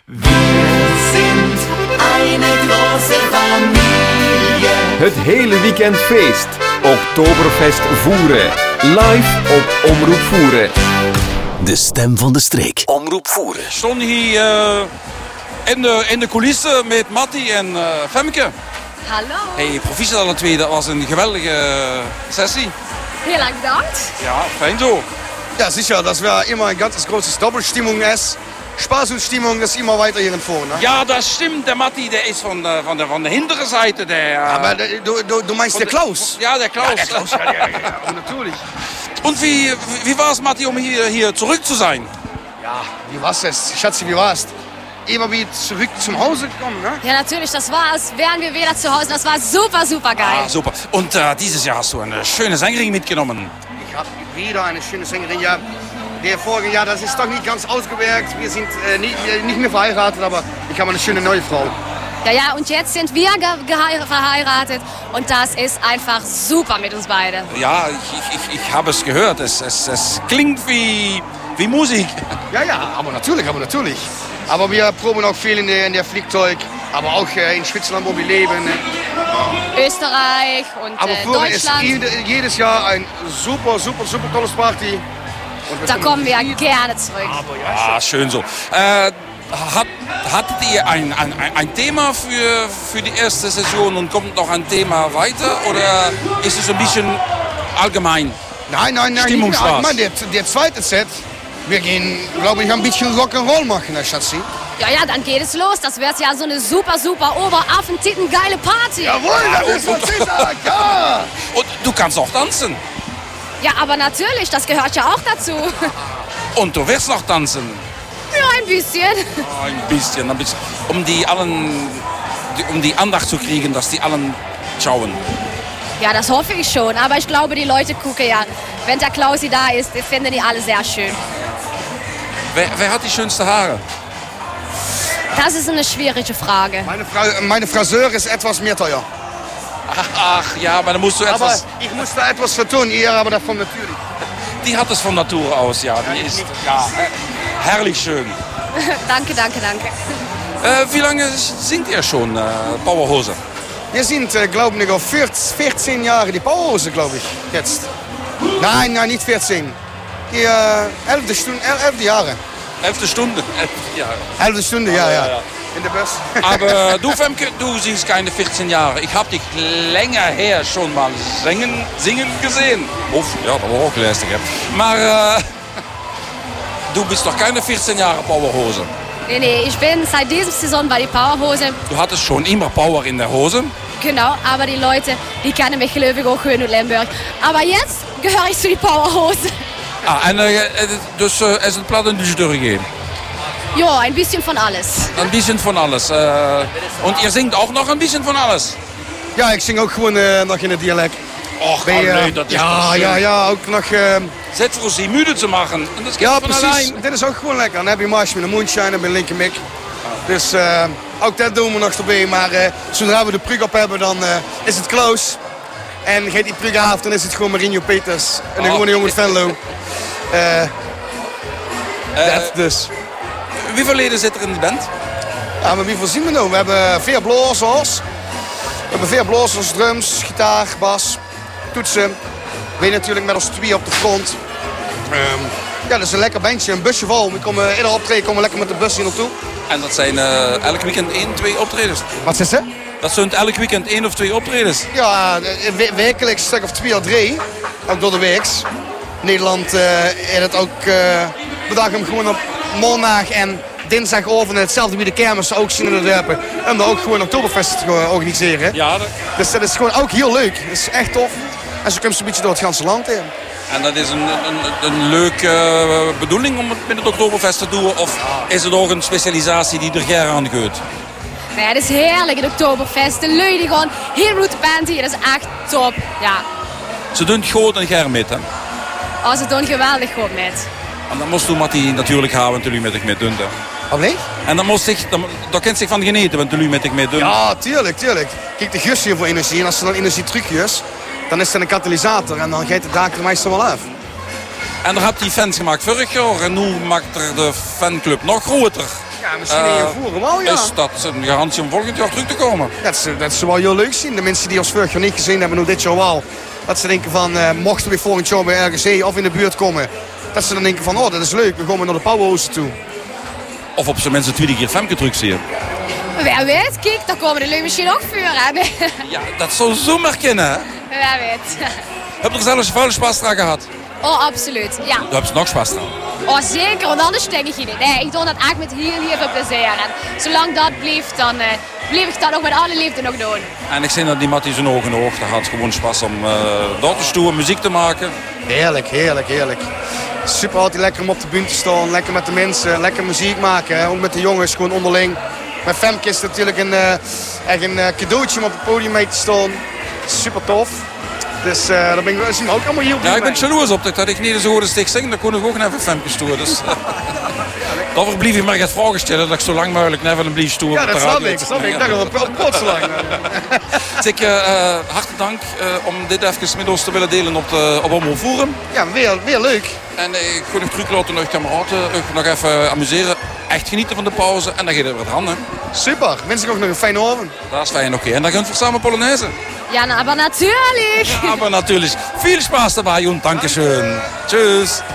Wir sind eine große Familie. Het hele weekend feest. Oktoberfest Voeren. Live op Omroep Voeren. De stem van de streek. Omroep Voeren. Ik stond hier in de coulissen met Matti en Femke. Hallo. Hey, proficiat alle twee, dat was een geweldige sessie. Heel erg bedankt. Ja, fijn zo. Ja, sicher, dass wir immer ein ganz großes Doppelstimmung ist. Spaß und Stimmung, das ist immer weiter hier vorne. Ne? Ja, das stimmt. Der Matti, der ist von der hinteren Seite. Aber du meinst der Klaus? Ja, der Klaus. Ja, der Klaus, ja, natürlich. Und wie war es, Matti, um hier zurück zu sein? Ja, wie war's es? Schatzi, wie war's? Immer wieder zurück zum Hause gekommen, ne? Ja, natürlich, das war, als wären wir wieder zu Hause. Das war super, super geil. Ah, super. Und dieses Jahr hast du eine schöne Sängerin mitgenommen. Ich habe wieder eine schöne Sängerin, ja. Der vorige Jahr, das ist doch nicht ganz ausgewirkt. Wir sind nicht mehr verheiratet, aber ich habe eine schöne neue Frau. Ja, und jetzt sind wir verheiratet und das ist einfach super mit uns beiden. Ja, ich habe es gehört. Es klingt wie Musik. Ja, aber natürlich. Aber wir proben auch viel in der Flugzeug, aber auch in Switzerland, wo wir leben. Österreich und aber Deutschland. Ist jedes Jahr ein super tolles Party. Da kommen wir gerne zurück. Ah, schön so. Hattet ihr ein Thema für die erste Saison und kommt noch ein Thema weiter? Oder ist es ein bisschen allgemein? Nein. Stimmungsspaß. Der zweite Set, wir gehen, glaube ich, ein bisschen Rock'n'Roll machen, Herr Schatzi. Ja, dann geht es los. Das wird ja so eine super Oberaffentitten geile Party. Jawohl, das ist was ich sage, ja. Und du kannst auch tanzen. Ja, aber natürlich, das gehört ja auch dazu. Und du wirst noch tanzen. Ja, ein bisschen. Ein bisschen. Um die Andacht zu kriegen, dass die allen schauen. Ja, das hoffe ich schon. Aber ich glaube, die Leute gucken ja. Wenn der Klausi da ist, finden die alle sehr schön. Wer hat die schönsten Haare? Das ist eine schwierige Frage. Meine Friseur ist etwas mehr teuer. Ach ja, aber da musst du etwas... Aber ich muss da etwas vertun, ihr aber davon natürlich. Die hat es von Natur aus, ja. Die ist herrlich schön. Danke. Wie lange singt ihr schon Powerhose? Wir sind, glaube ich, auf 14 Jahre die Powerhose, glaube ich, jetzt. Nein, nicht 14. Die 11 Jahre. 11. Stunde. 11 Stunde, ja. In der Bus. Aber du, Femke, du singst keine 14 Jahre. Ich habe dich länger her schon mal singen gesehen. Of, ja, dat was ook lastig. Maar du bist doch keine 14 Jahre Powerhose. Nee, ich bin seit dieser Saison bei die Powerhose. Du hattest schon immer Power in der Hose. Genau, aber die Leute, die kennen mich gelukkig auch schön in Lemberg. Aber jetzt gehöre ich zu die Powerhose. Dus er is een platte durchgehen. Ja, ein bisschen von alles. Ein bisschen von alles. Und ihr singt auch noch ein bisschen von alles? Ja, ik zing ook gewoon nog in het dialect. Och, nee, dat is ja, ook nog... Zet voor ze müde te maken. En dat Ja, van precies. allein. Dit is ook gewoon lekker. Dan heb je Mars met een moonshine en bij Linker Mick. Dus ook dat doen we nog erbij. Maar zodra we de prug op hebben, dan is het close. En geeft die prug af, dan is het gewoon Marinho Peters. En dan gewoon een jongen Venlo. Dat dus. Hoeveel leden zit er in de band? Ja, maar wie voorzien we nou? We hebben 4 blazers. We hebben 4 blazers, drums, gitaar, bas, toetsen. We natuurlijk met ons 2 op de front. Ja, dat is een lekker bandje, een busje vol. Ieder optreden komen we lekker met de bus hier naartoe. En dat zijn elk weekend 1, 2 optredens. Wat is het? Dat zijn elk weekend 1 of 2 optredens. Ja, wekelijks een stuk of 2 of 3. Ook door de weeks. Nederland heeft het ook bedacht om gewoon op maandag en dinsdag over hetzelfde wie de kermis ook zien in de dorpen. Om daar ook gewoon Oktoberfest te organiseren. Ja, Dus dat is gewoon ook heel leuk. Dat is echt tof. En zo komt ze een beetje door het ganse land heen. en dat is een leuke bedoeling om het met het Oktoberfest te doen? Of is het ook een specialisatie die er graag aan gaat? Nee, het is heerlijk, het Oktoberfest. De lui die gewoon heel goed band hier, dat is echt top. Ja, Ze doen het goed en graag met hem. ze doen geweldig goed met. En dan moest u Matti natuurlijk gaan, want jullie met ik mee doen. Oh nee? En dan kent zich van genieten, want jullie met ik mee doen. Ja, tuurlijk. Kijk, de gus hier voor energie. En als ze dan energie terugjes, dan is het een katalysator. En dan gaat de daak er meestal wel af. En daar hebt die fans gemaakt vorig jaar. En nu maakt er de fanclub nog groter. Ja, Ja, misschien in Voeren wel, ja. Is dat een garantie om volgend jaar terug te komen? Dat zou wel heel leuk zien. De mensen die ons vorig jaar niet gezien hebben, nu dit jaar wel. Dat ze denken van, mochten we volgend jaar bij RGC of in de buurt komen. Dat ze dan denken van, dat is leuk, we gaan naar de Powerhouse toe. Of op zijn mensen 20 keer Femke terug zien. Wie weet, kijk, daar komen de lui misschien ook vuur hebben. Ja, dat zou zomaar kunnen, hè? Wie weet. Heb je er zelfs veel spaß eraan gehad? Oh, absoluut, ja. Daar heb je nog spaß eraan. Oh, zeker, want anders denk ik niet. Nee, ik doe dat echt met heel veel plezier. En zolang dat blijft, dan blijf ik dat ook met alle liefde nog doen. En ik zie dat die Mattie zijn ogen oog. Daar had gewoon spaß om daar te stoeren, muziek te maken. Heerlijk, heerlijk, heerlijk. Super altijd lekker om op de bühne te staan, lekker met de mensen, lekker muziek maken. Hè. Ook met de jongens, gewoon onderling. Met Femke is het natuurlijk echt een cadeautje om op het podium mee te staan. Super tof. Dus daar zien we ook allemaal heel blij Ja, ik ben mee. jaloers op dat ik niet zo goed stik zing. Dan kon ik ook even Femke stoeren. Dus, daarvoor blijf je maar het vragen stellen dat ik zo lang mogelijk even een blief stoer. Ja, dat snap ik. Ik dacht al een plotseling. Dus hartelijk dank om dit even met ons te willen delen op Omroep Voeren. Ja, weer leuk. En ik ga nog terug laten naar kameraden. Nog even amuseren. Echt genieten van de pauze. En dan gaat het weer aan. Hè. Super. Wens ik ook nog een fijne avond. Dat is fijn, oké. En dan gaan we samen Polonaise. Ja, aber natürlich. Ja, aber natürlich. Viel Spaß dabei und Dankeschön. Tschüss.